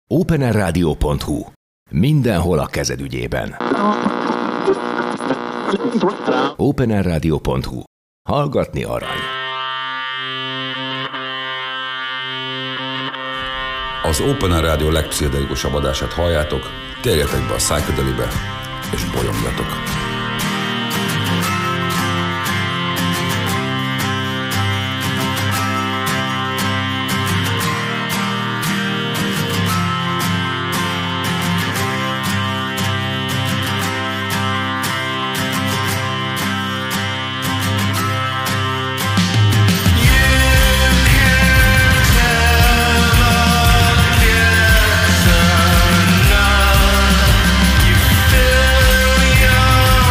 openerradio.hu. Mindenhol a kezed ügyében. openerradio.hu. Hallgatni arany. Az Open Rádió legpszichedelikusabb adását halljátok, térjetek be a Psychedelibe, és bolyongjatok! Fill your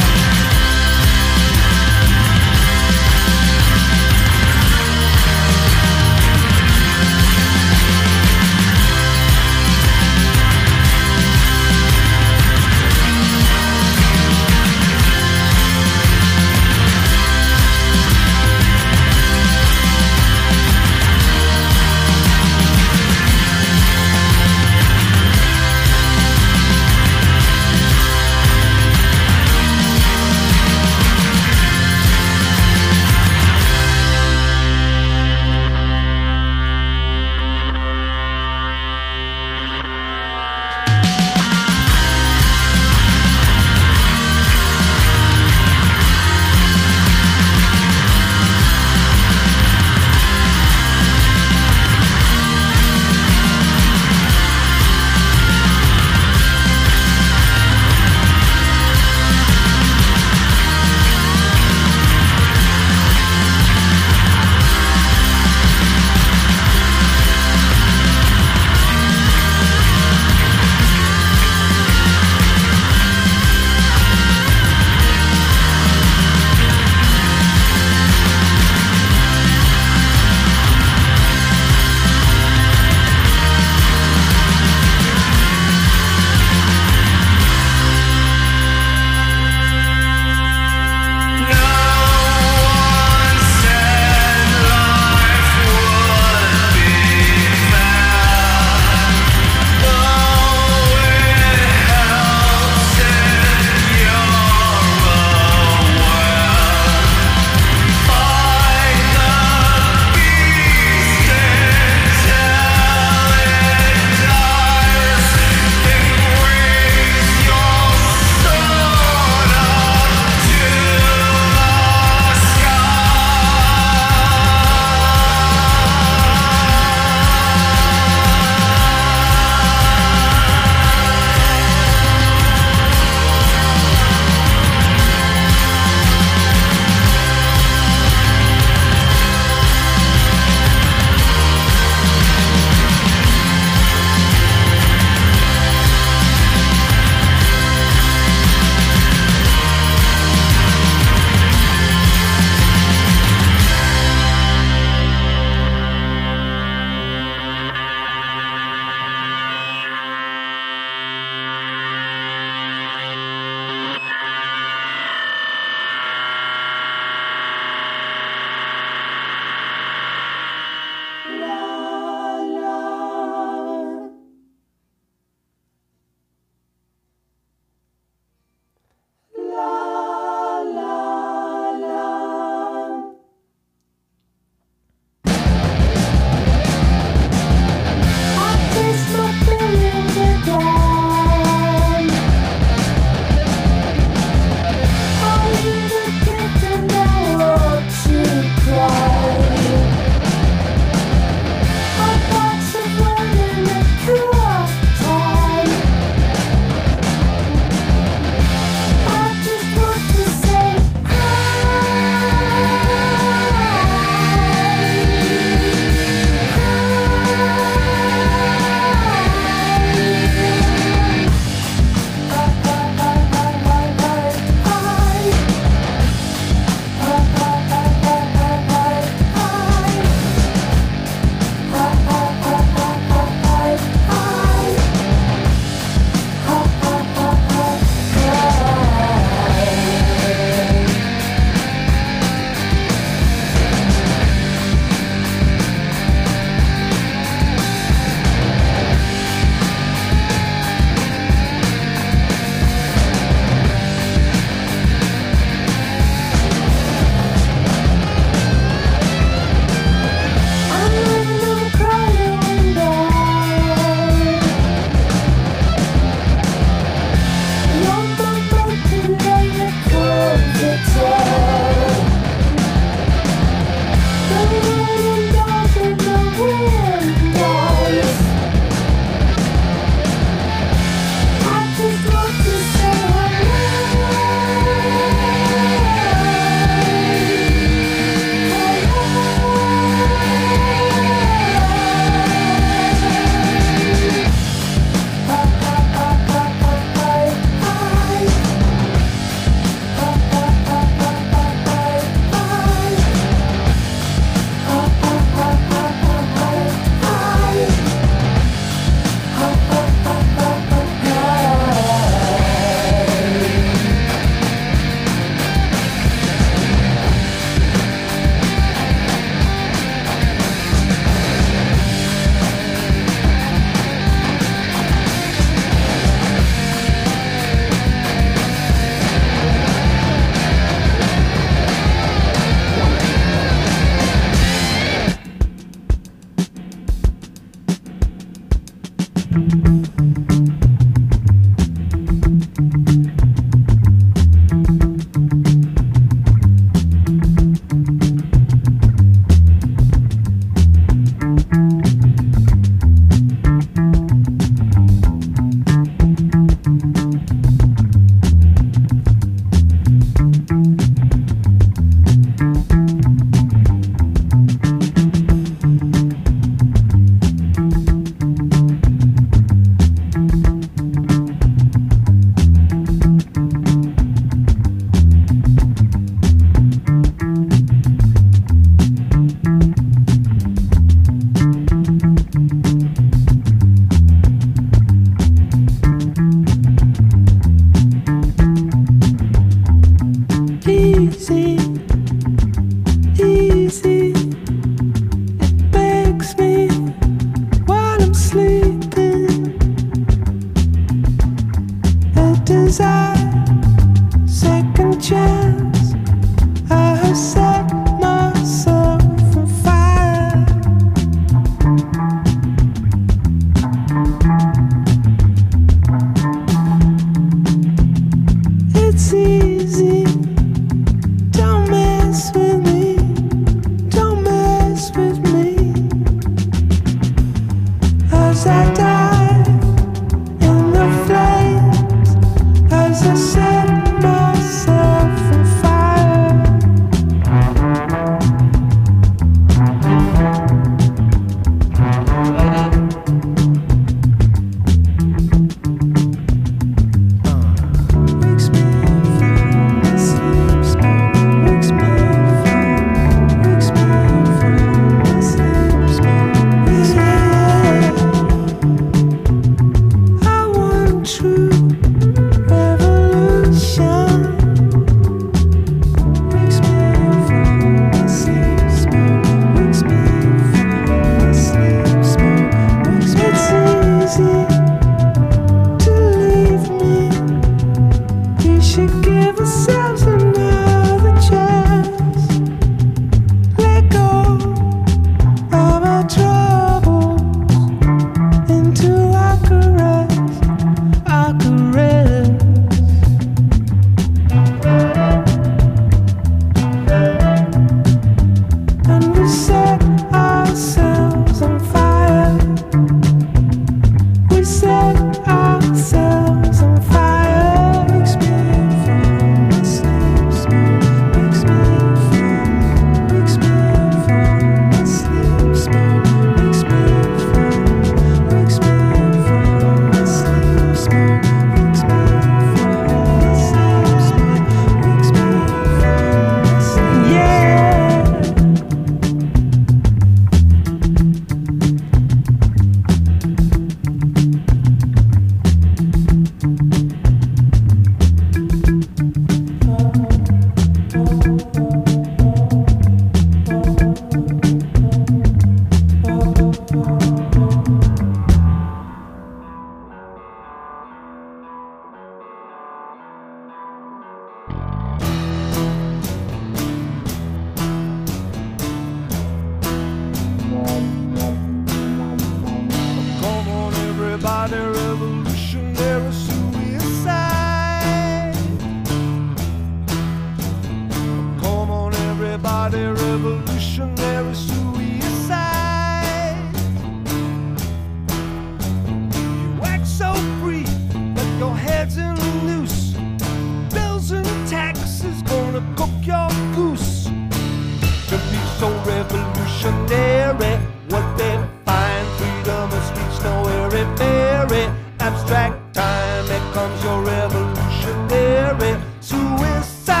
abstract time. Here comes your revolutionary suicide.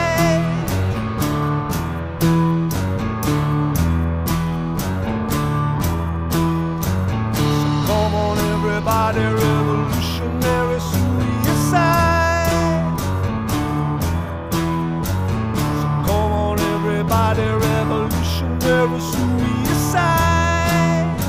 So come on everybody, revolutionary suicide. So come on everybody, revolutionary suicide.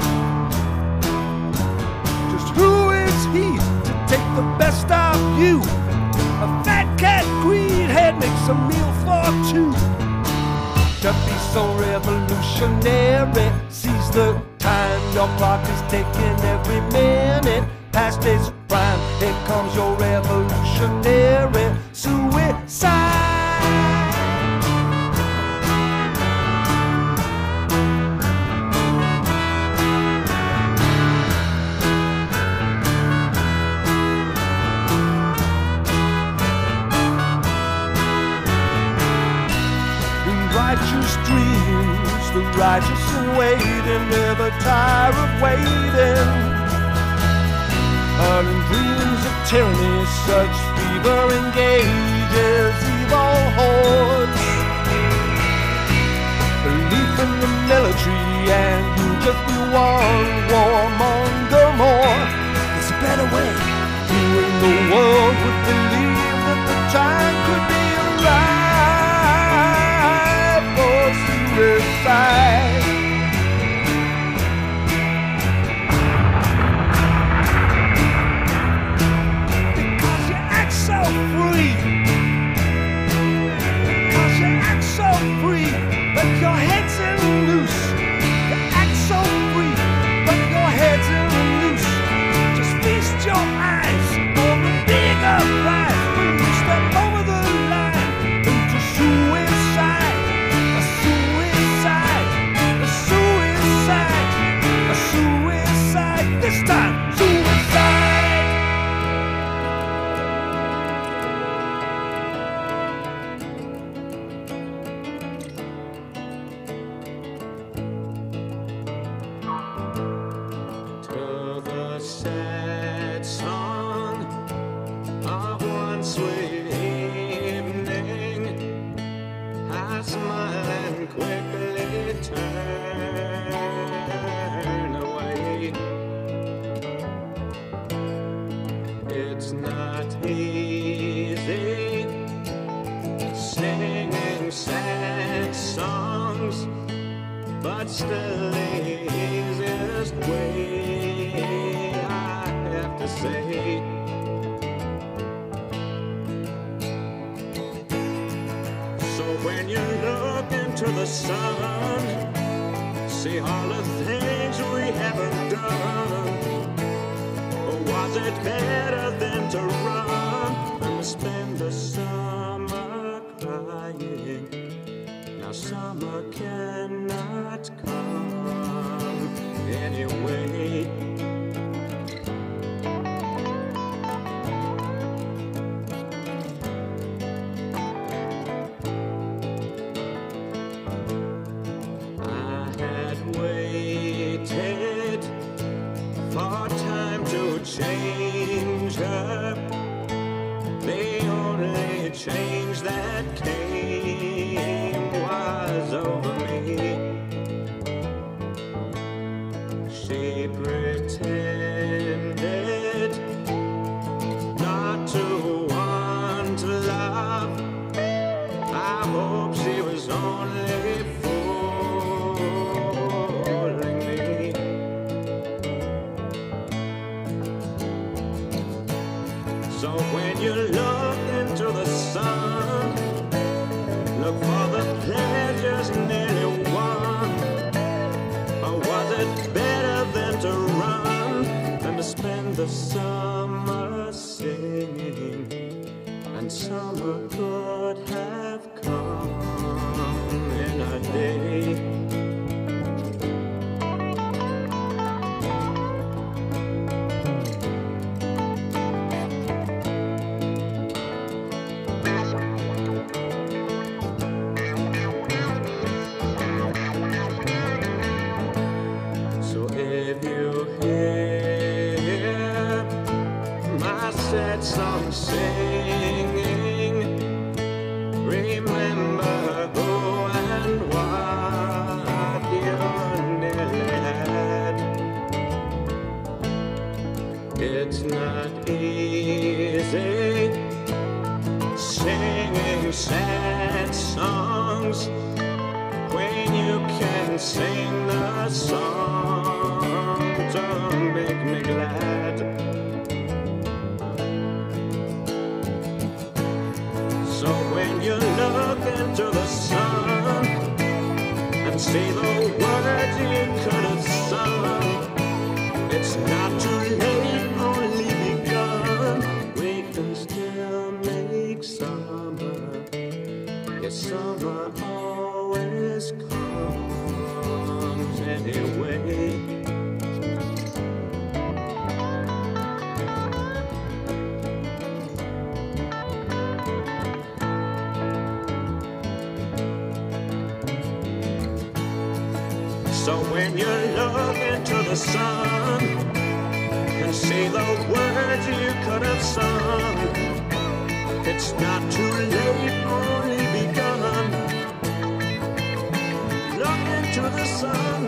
Just who is he to take the best of you? A fat cat greenhead makes a meal for two. To be so revolutionary, seize the time. Your clock is ticking every minute past its prime. Here comes your revolutionary suicide. Righteous dreams, the righteous await and never tire of waiting. Hurling dreams of tyranny, such fever engages evil hordes. Belief in the military and you'll just be one warmonger more. There's a better way. You in the world would believe that the time could be arrived. Suicide. Because you act so free. Because you act so free, but your head's in loose. You act so free, but your head's in loose. Just feast your eyes on the bigger prize when you step over the line into suicide. This time, suicide. To the sad song of one sweet evening, I smile and quickly turn away. It's not easy singing sad songs, but still the easiest way, I have to say. So when you look into the sun, see all the things we haven't done. Was it better than to run and spend the summer crying? Now summer cannot come anyway. I had waited for time to change her. The only change that came was over me. She pretended not to want love. I hope she was only fooling me. So when you look into the sun, look for the pleasures nearly won. Or was it better than to run than to spend the summer singing? And summer could have come in a day. If you hear sad song singing. Remember who and what you nearly had. It's not easy singing sad songs when you can sing the song to make me glad. So when you look into the sun and see the words you could have sung, it's not too late, only begun. We can still make summer. Yes, summer always comes anyway. So when you look into the sun and see the words you could have sung, it's not too late, only begun. Look into the sun.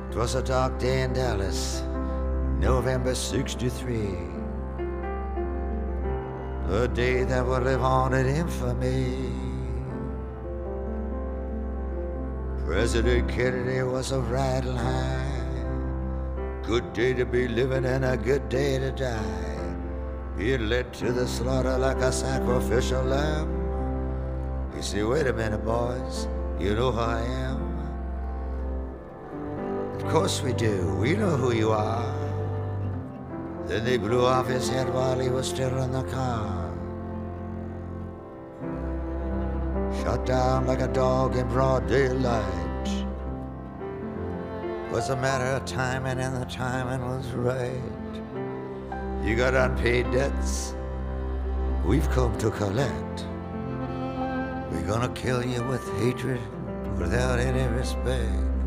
'Twas a dark day in Dallas, November 63. A day that would live on in infamy. President Kennedy was a riding high. Good day to be living and a good day to die. He led to the slaughter like a sacrificial lamb. You say, wait a minute, boys, you know who I am? Of course we do, we know who you are. Then they blew off his head while he was still in the car. Shot down like a dog in broad daylight. Was a matter of timing, and the timing was right. You got unpaid debts, we've come to collect. We're gonna kill you with hatred without any respect.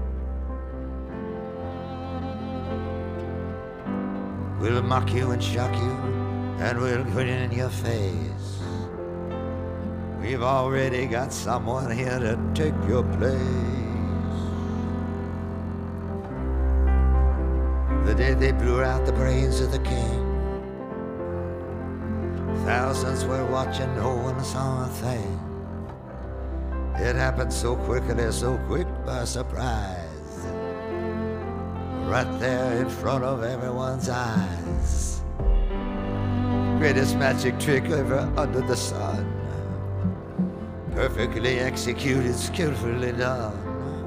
We'll mock you and shock you, and we'll grin in your face. We've already got someone here to take your place. The day they blew out the brains of the king, thousands were watching, no one saw a thing. It happened so quickly, so quick by surprise, right there in front of everyone's eyes. Greatest magic trick ever under the sun, perfectly executed, skillfully done.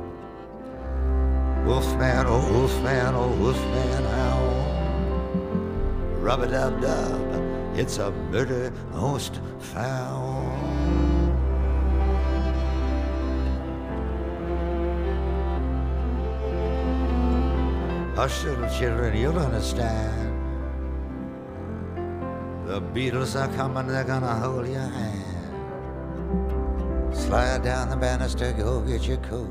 Wolfman, oh wolfman, oh wolfman, ow. Rub-a-dub-dub, it's a murder most foul. Hush, little children, you'll understand. The Beatles are coming, they're gonna hold your hand. Slide down the banister, go get your coat.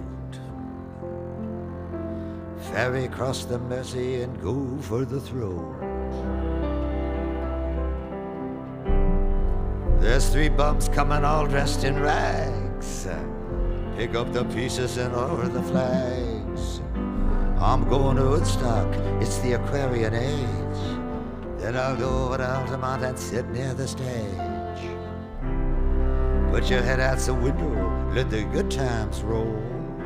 Ferry across the Mersey and go for the throat. There's 3 bums coming all dressed in rags. Pick up the pieces and lower the flags. I'm going to Woodstock, it's the Aquarian age. Then I'll go over to Altamont and sit near the stage. Put your head out the window, let the good times roll.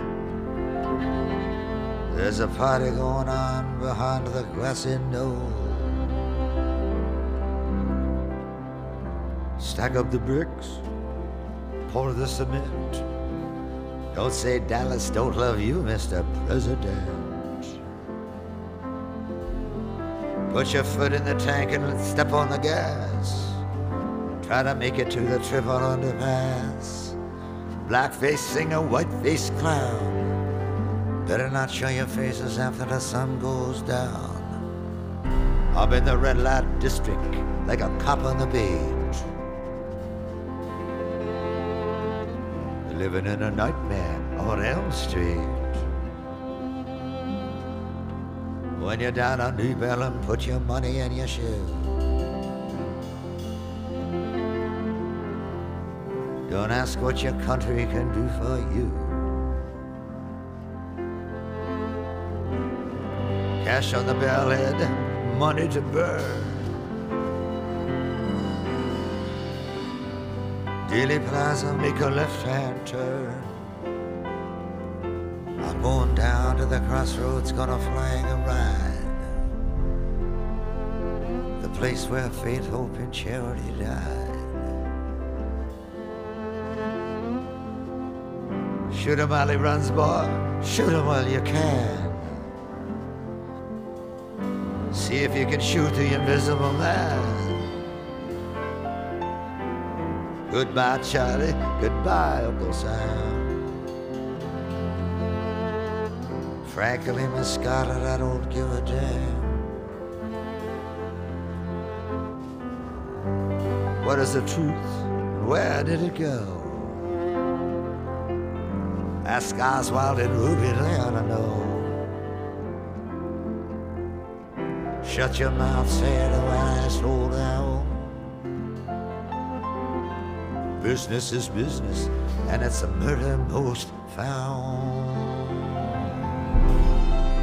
There's a party going on behind the grassy knoll. Stack up the bricks, pour the cement. Don't say Dallas don't love you, Mr. President. Put your foot in the tank and step on the gas. Try to make it to the triple underpass. Blackface singer, white-faced clown. Better not show your faces after the sun goes down. I'm in the red light district like a cop on the beat, living in a nightmare on Elm Street. When you're down on New Bellum, put your money in your shoe. Don't ask what your country can do for you. Cash on the bellhead, money to burn. Dealey Plaza, make a left-hand turn. I'm going down to the crossroads, gonna flag a ride. The place where faith, hope, and charity died. Shoot him while he runs, boy. Shoot him while you can. See if you can shoot the invisible man. Goodbye, Charlie. Goodbye, Uncle Sam. Frankly, Miss Scarlett, I don't give a damn. What is the truth? Where did it go? Ask Oswald and Ruby, they ought to know. Shut your mouth, say it while I slow down. Business is business, and it's a murder most found.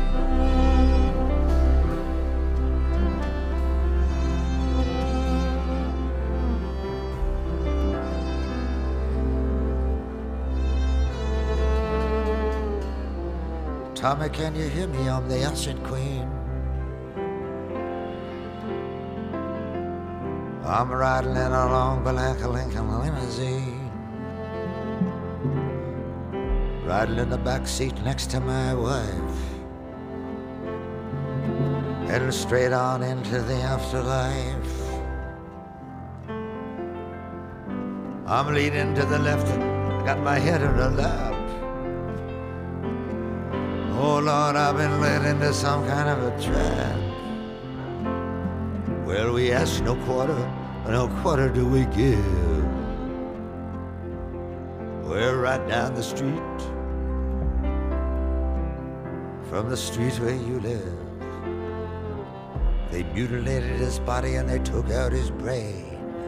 Tommy, can you hear me? I'm the Ocean Queen. I'm riding in a long black Lincoln limousine, riding in the back seat next to my wife, heading straight on into the afterlife. I'm leaning to the left and got my head in her lap. Oh Lord, I've been led into some kind of a trap. Well, we ask no quarter do we give. We're right down the street from the street where you live. They mutilated his body and they took out his brain.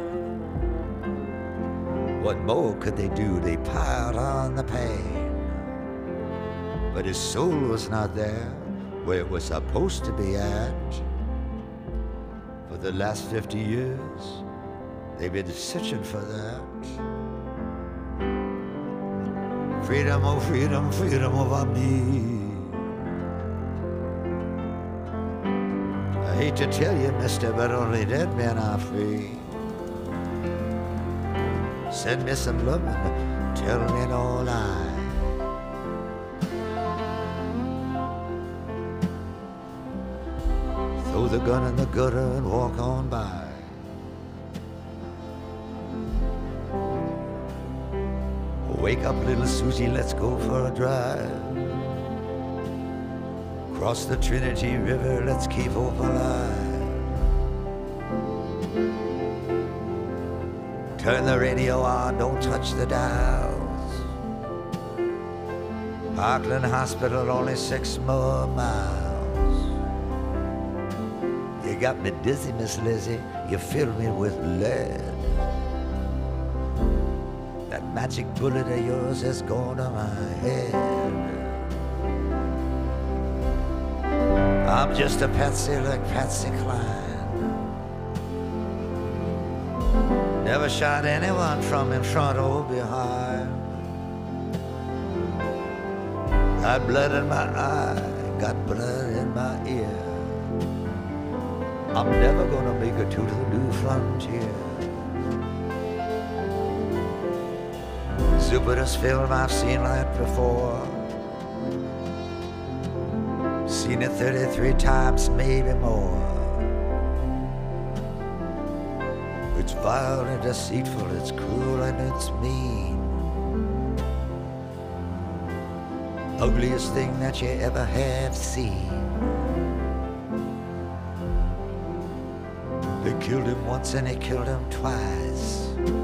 What more could they do? They piled on the pain. But his soul was not there where it was supposed to be at. For the last 50 years, they've been searching for that. Freedom, oh freedom, freedom over me. I hate to tell you, mister, but only dead men are free. Send me some lovin', tell me no lie. Throw the gun in the gutter and walk on by. Wake up, little Susie, let's go for a drive. Cross the Trinity River, let's keep hope alive. Turn the radio on, don't touch the dials. Parkland Hospital, only 6 more miles. You got me dizzy, Miss Lizzie, you fill me with lead. That magic bullet of yours has gone to my head. I'm just a patsy like Patsy Cline. Never shot anyone from in front or behind. Got blood in my eye, got blood in my ear. I'm never gonna make it to the new frontier. Stupidest film I've seen like before. Seen it 33 times, maybe more. It's vile and deceitful, it's cruel and it's mean. Ugliest thing that you ever have seen. They killed him once and they killed him twice.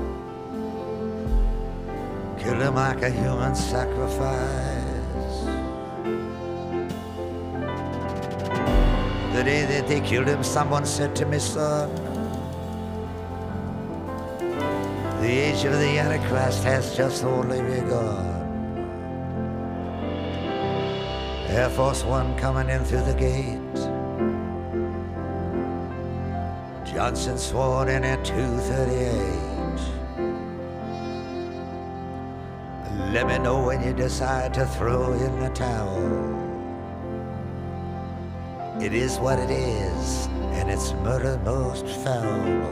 Killed him like a human sacrifice. The day that they killed him, someone said to me, son, the age of the Antichrist has just only begun. Air Force One coming in through the gate. Johnson sworn in at 2:38. Let me know when you decide to throw in the towel. It is what it is, and it's murder most foul.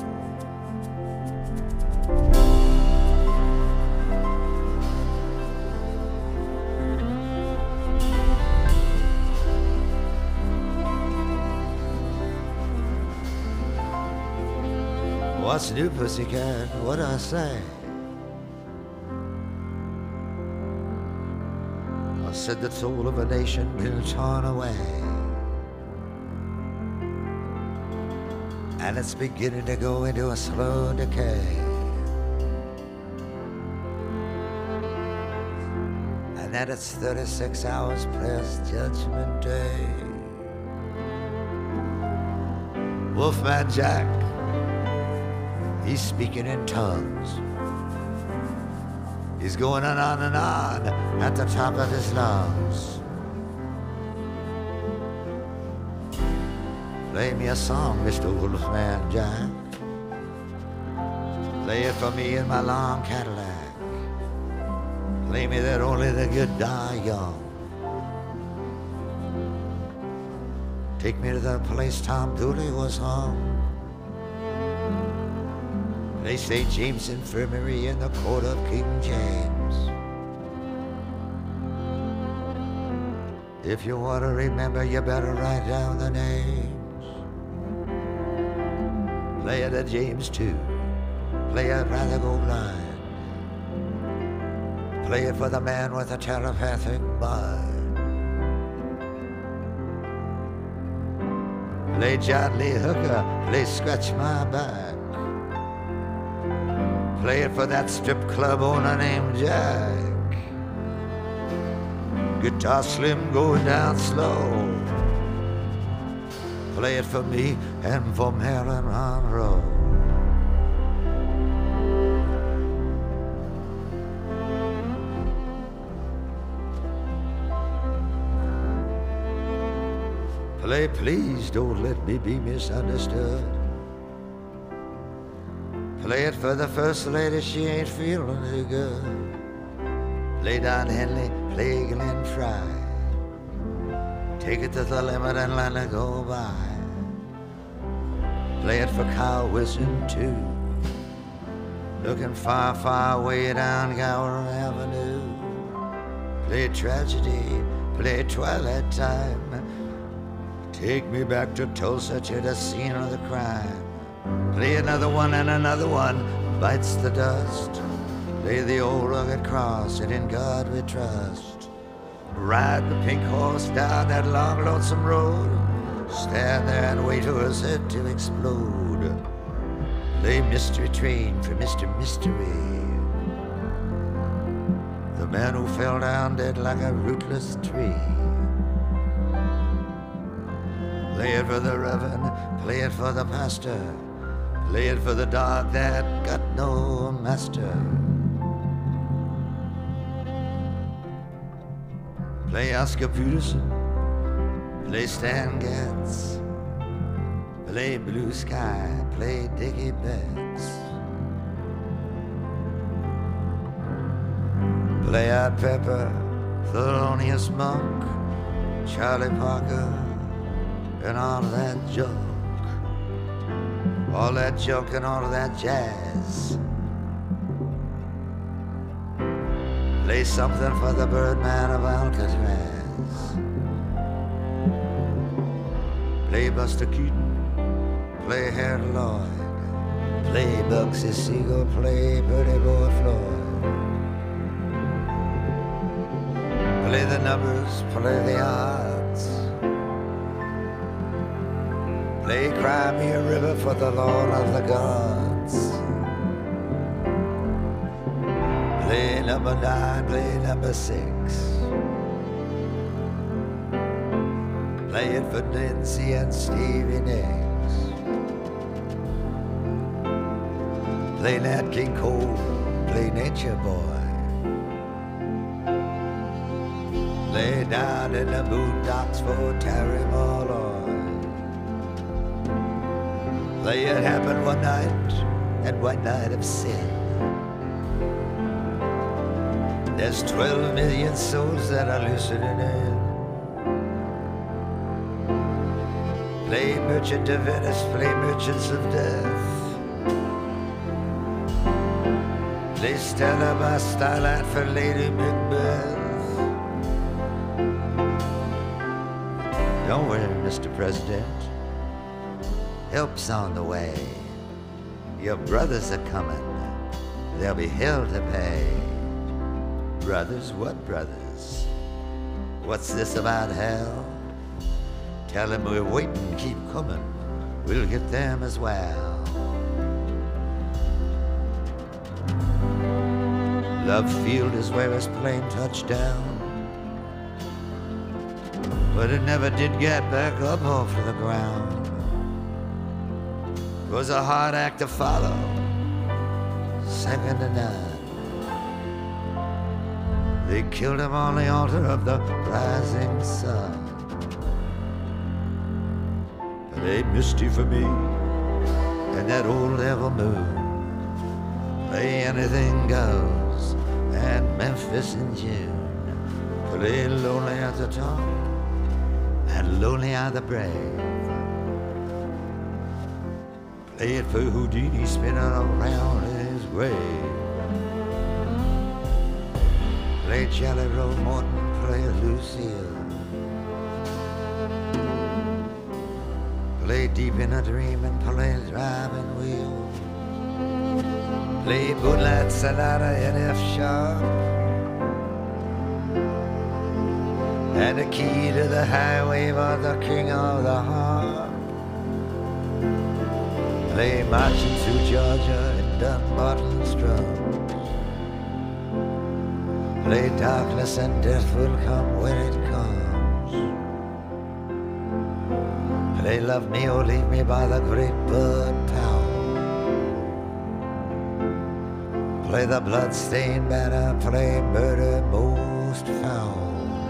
What's new, pussycat? What'd I say? I said the soul of a nation been torn away, and it's beginning to go into a slow decay. And that it's 36 hours past Judgment Day. Wolfman Jack, he's speaking in tongues. He's going on and on at the top of his lungs. Play me a song, Mr. Wolfman Jack. Play it for me in my long Cadillac. Play me that only the good die young. Take me to the place Tom Dooley was hung. Play St. James Infirmary in the court of King James. If you want to remember, you better write down the names. Play it at James 2. Play it Rather Go Blind. Play it for the man with a telepathic mind. Play John Lee Hooker, play Scratch My Back. Play it for that strip club owner named Jack. Guitar Slim going down slow. Play it for me and for Marilyn Monroe. Play Please Don't Let Me Be Misunderstood. Play it for the first lady, she ain't feeling too good. Play Don Henley, play Glenn Fry. Take it to the limit and let it go by. Play it for Kyle Wilson too. Looking far, far way down Gower Avenue. Play Tragedy, play Twilight Time. Take me back to Tulsa, to the scene of the crime. Play another one and another one bites the dust. Play the old rugged cross and in God we trust. Ride the pink horse down that long lonesome road. Stand there and wait for his head to explode. Play Mystery Train for Mr. Mystery, the man who fell down dead like a rootless tree. Play it for the reverend, play it for the pastor. Play it for the dog that got no master. Play Oscar Peterson, play Stan Getz. Play Blue Sky, play Dickie Betts. Play Art Pepper, Thelonious Monk, Charlie Parker, and all of that junk. All that junk and all of that jazz. Play something for the Birdman of Alcatraz. Play Buster Keaton, play Harold Lloyd. Play Bugsy Siegel, play Pretty Boy Floyd. Play the numbers, play the odds. Play Cry Me a River for the Lord of the Gods. Play number 9, play number 6. Play it for Nancy and Stevie Nicks. Play Nat King Cole, play Nature Boy. Play Down in the Boondocks for Terry Malloy. Play It Happened One Night and One Night of Sin. There's 12 million souls that are listening in. Play Merchant of Venice, play Merchants of Death. Play Stella by Starlight for Lady Macbeth. Don't worry, Mr. President. Help's on the way. Your brothers are coming. There'll be hell to pay. Brothers, what brothers? What's this about hell? Tell them we're waiting, keep coming. We'll get them as well. Love Field is where his plane touched down, but it never did get back up off the ground. It was a hard act to follow, second to none. They killed him on the altar of the rising sun. But they misty for me and that old devil moon. Play Anything Goes and Memphis in June. Play Lonely at the Top and lonely are the brave. Play it for Houdini spinning around his grave. Play Jelly Roll Morton, play Lucille. Play Deep in a Dream and play Driving Wheel. Play Moonlight Sonata in F sharp. And the key to the highway was the king of the harp. Play Marching Through Georgia in Dunbarton's drums. Play Darkness and Death Will Come When It Comes. Play Love Me or Leave Me by the Great Bud Powell. Play the Bloodstained Banner, play Murder Most Foul.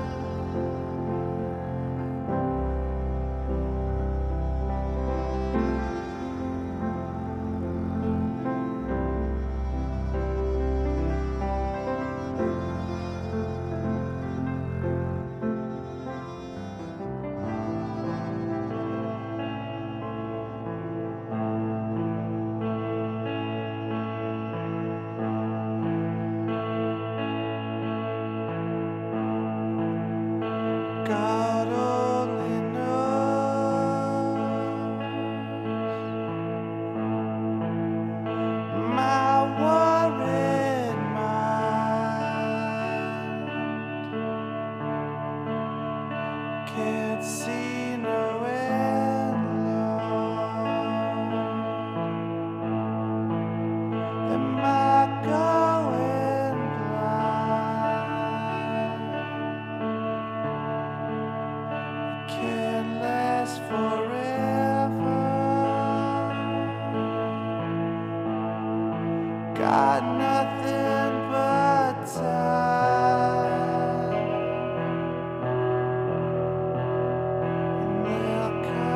God only knows my worried mind can't see no end, Lord. Am I going blind? Can't last forever. Got nothing but time, and they'll come.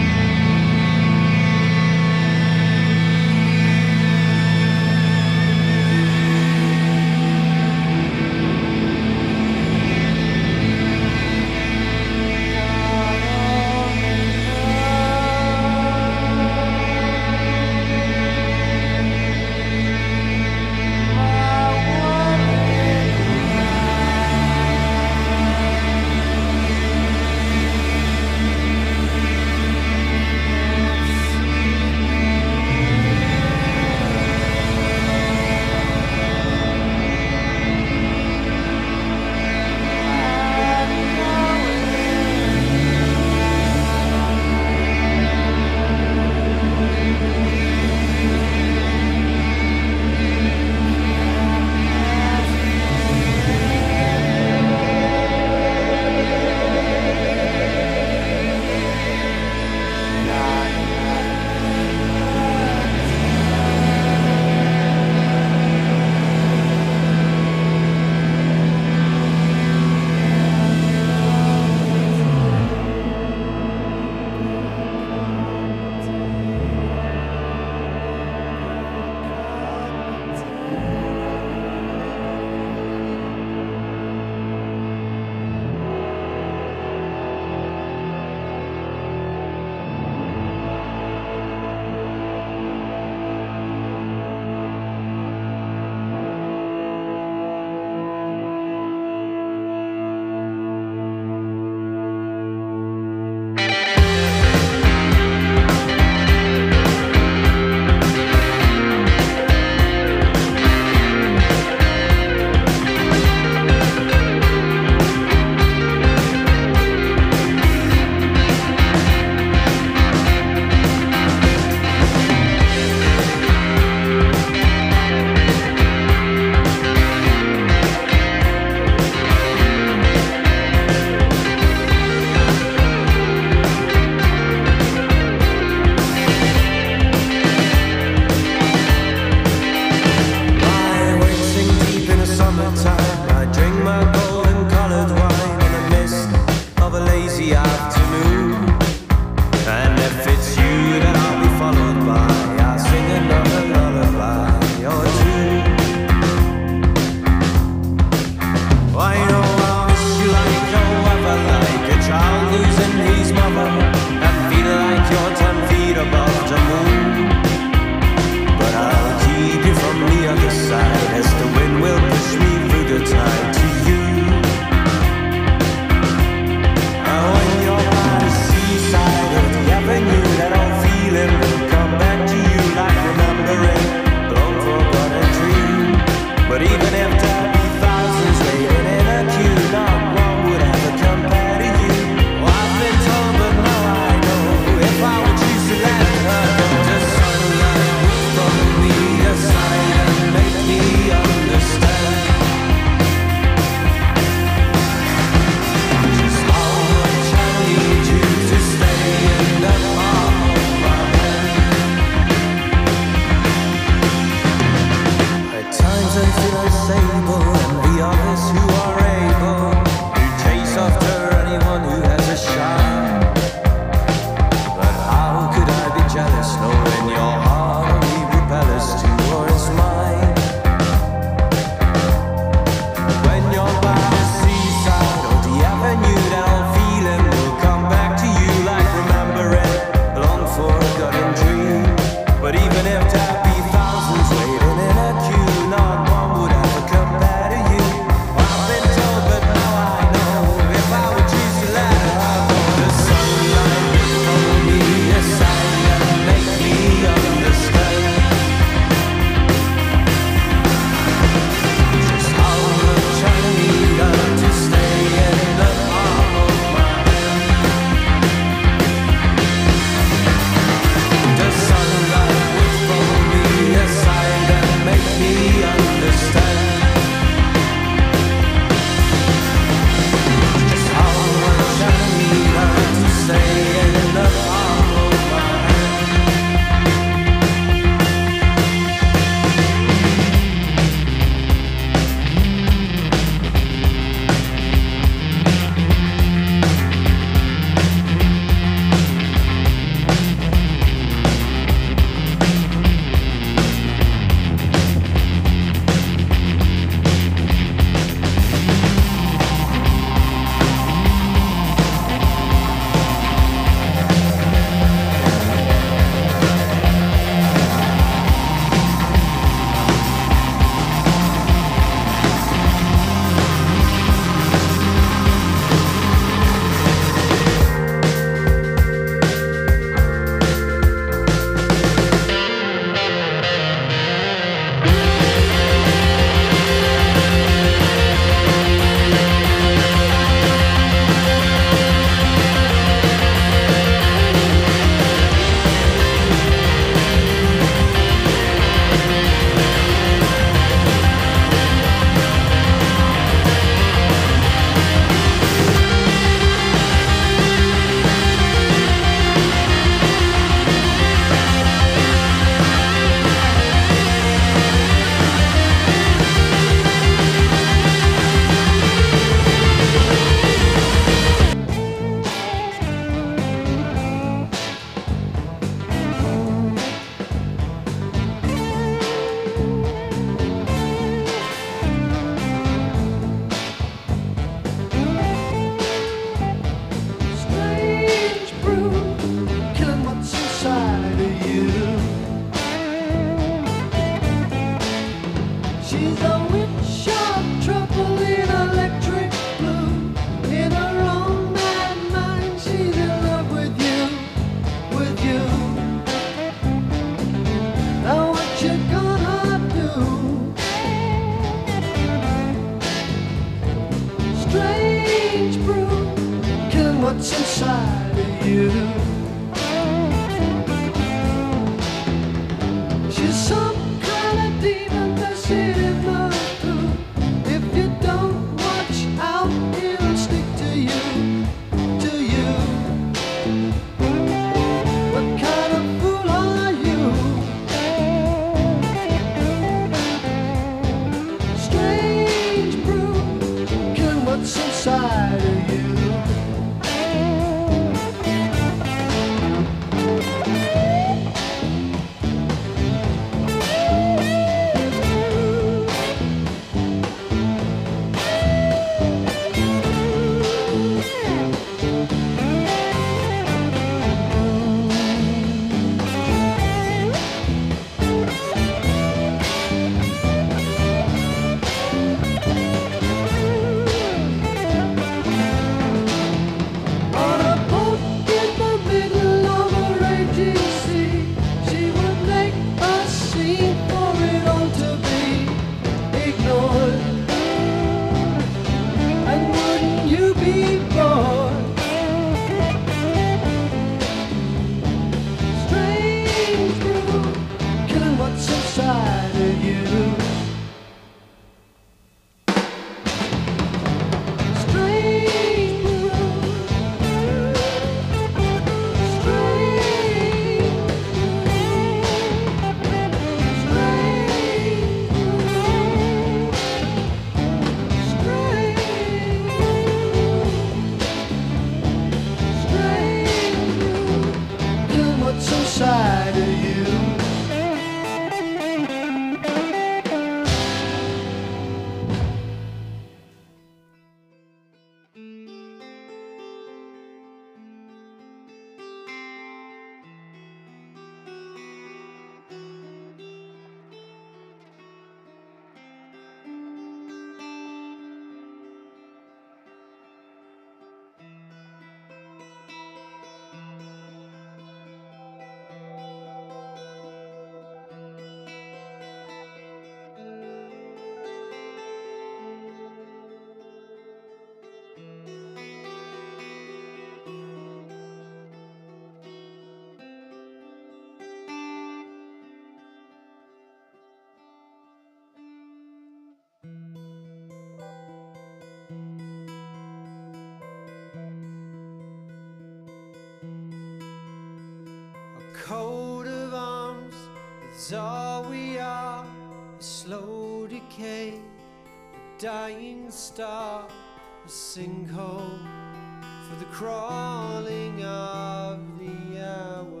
coat of arms is all we are, a slow decay, a dying star, a sinkhole for the crawling of the hours.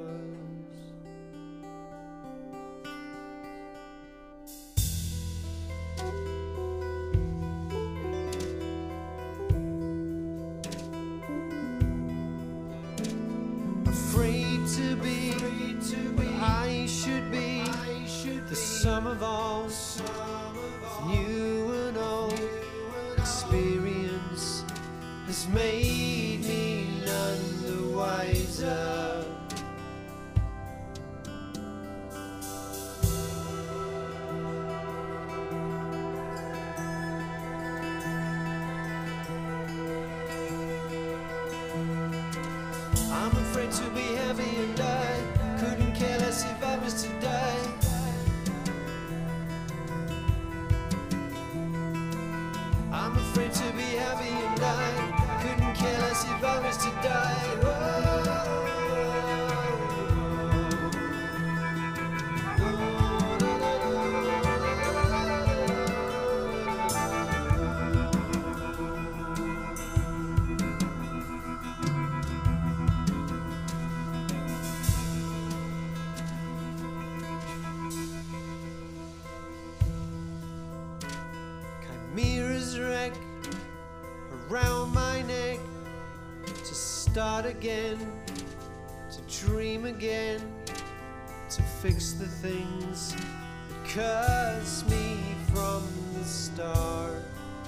Afraid to be what I should be, the sum of all of new and old. Experience has made me none the wiser. I'm afraid to be heavy and I couldn't care less if I was to die. I'm afraid to be heavy and I couldn't care less if I was to die. Whoa. Chimeras wreck around my neck, to start again, to dream again, to fix the things that curse me from the start.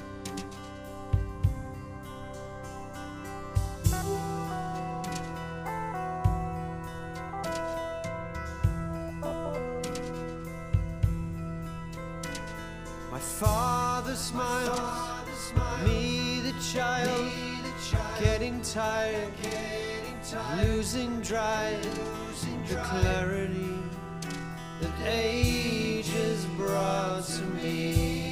My father smiles, me the child, getting tired, losing drive, the clarity that age has brought to me.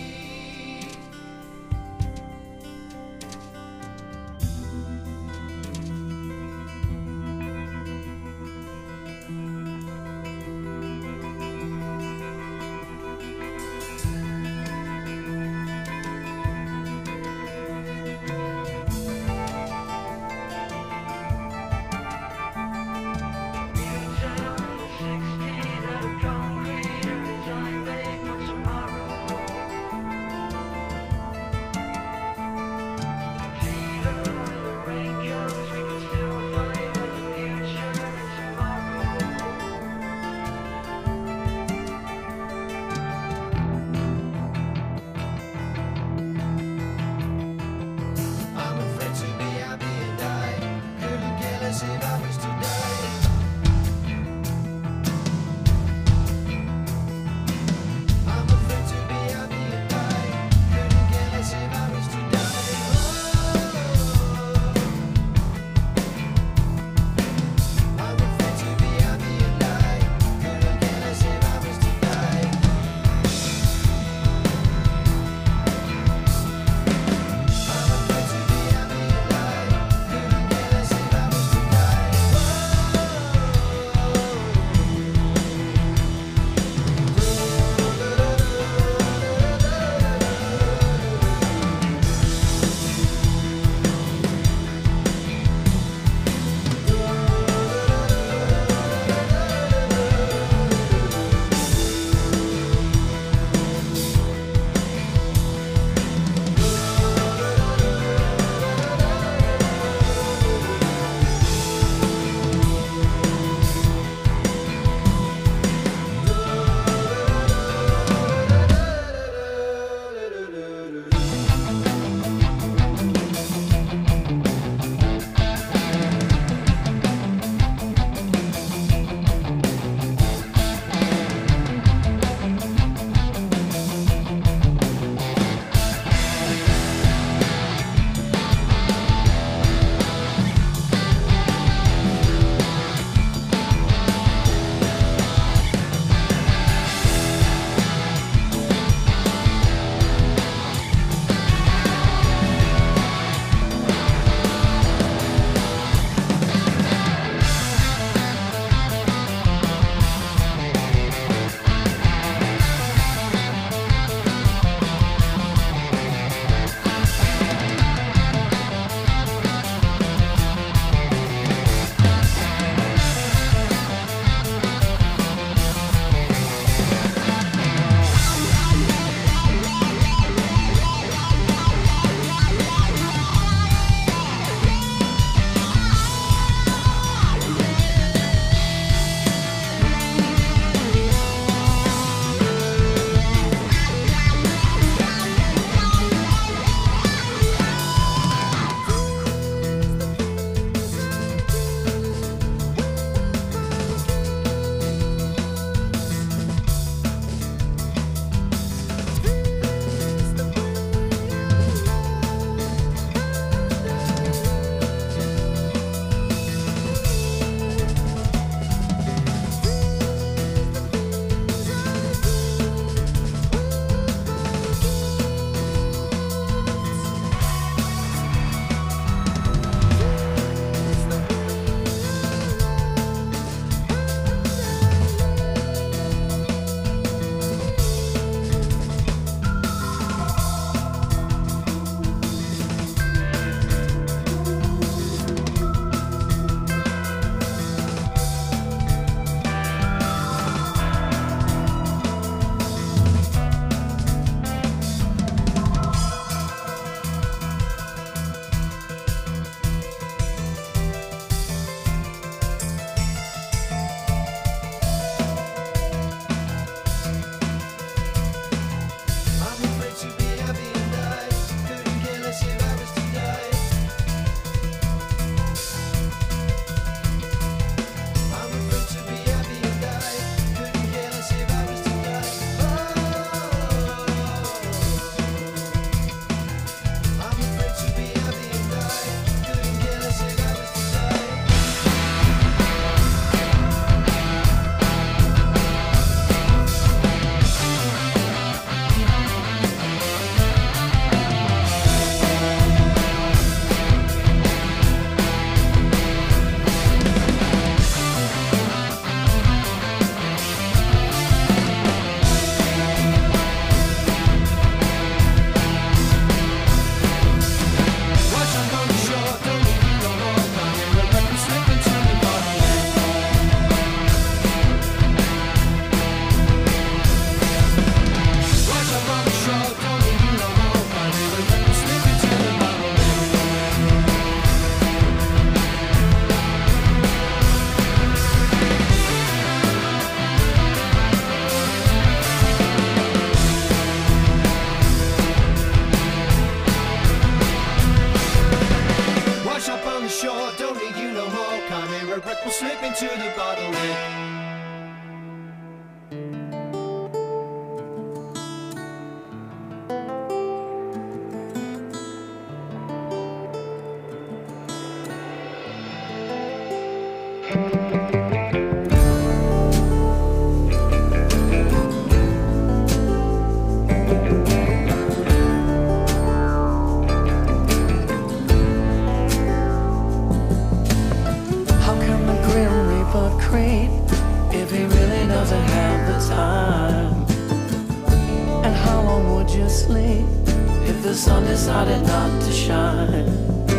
would you sleep if the sun decided not to shine?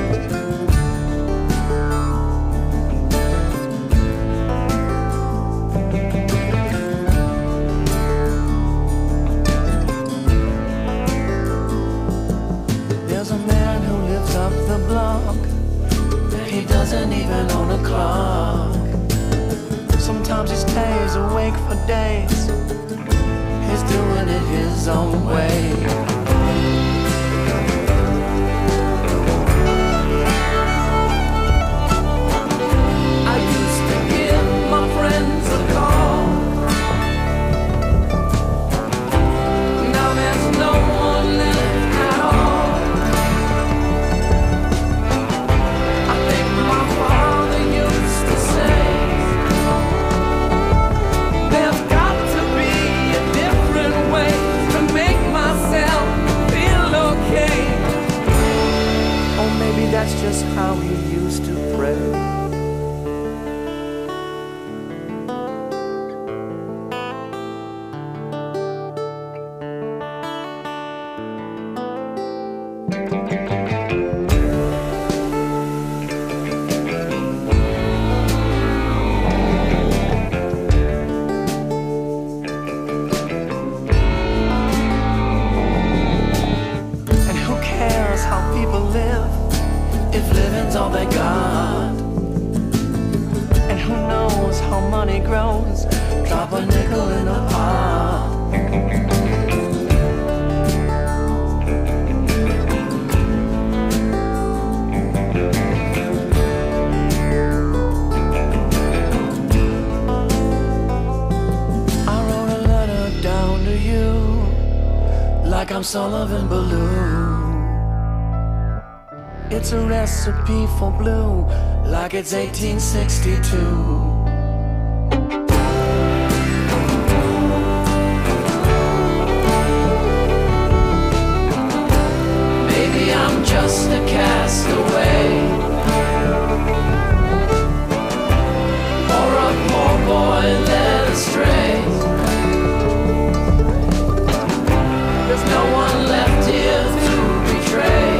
There's a man who lives up the block. He doesn't even own a clock. Sometimes he stays awake for days. He's doing it his own way. I used to give my friends a call. Now there's no one left at all. I think my father used to say, there's got to be a different way to make myself feel okay. Or maybe that's just how he used to pray. And who cares how people live if living's all they got? And who knows how money grows? Drop a nickel in the pot. I wrote a letter down to you like I'm Sullivan Balloon. It's a recipe for blue, like it's 1862. Maybe I'm just a castaway, or a poor boy led astray. There's no one left here to betray.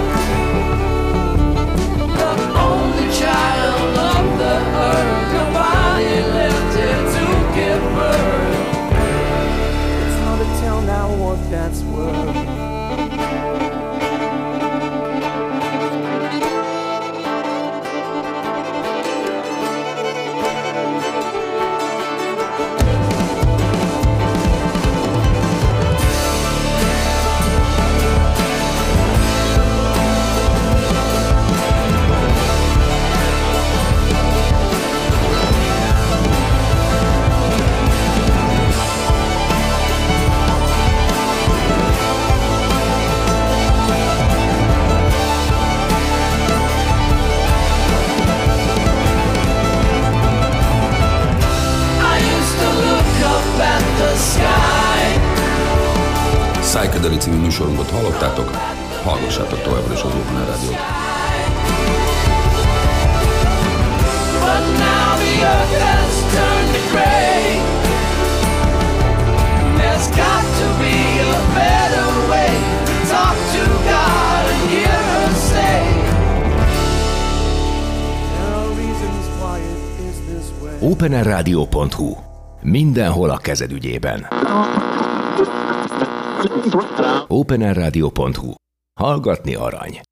The only child of the earth, nobody left here to give birth. It's hard to tell now what that's worth. Psychedelic című műsorunkat hallottátok, hallgassátok továbbra is az Open Air Rádiót. But now the earth has turned to gray. There's got to be a better way to talk to God and hear her say, there are reasons why it is this way. openerradio.hu. Mindenhol a kezed ügyében. openerradio.hu. Hallgatni arany.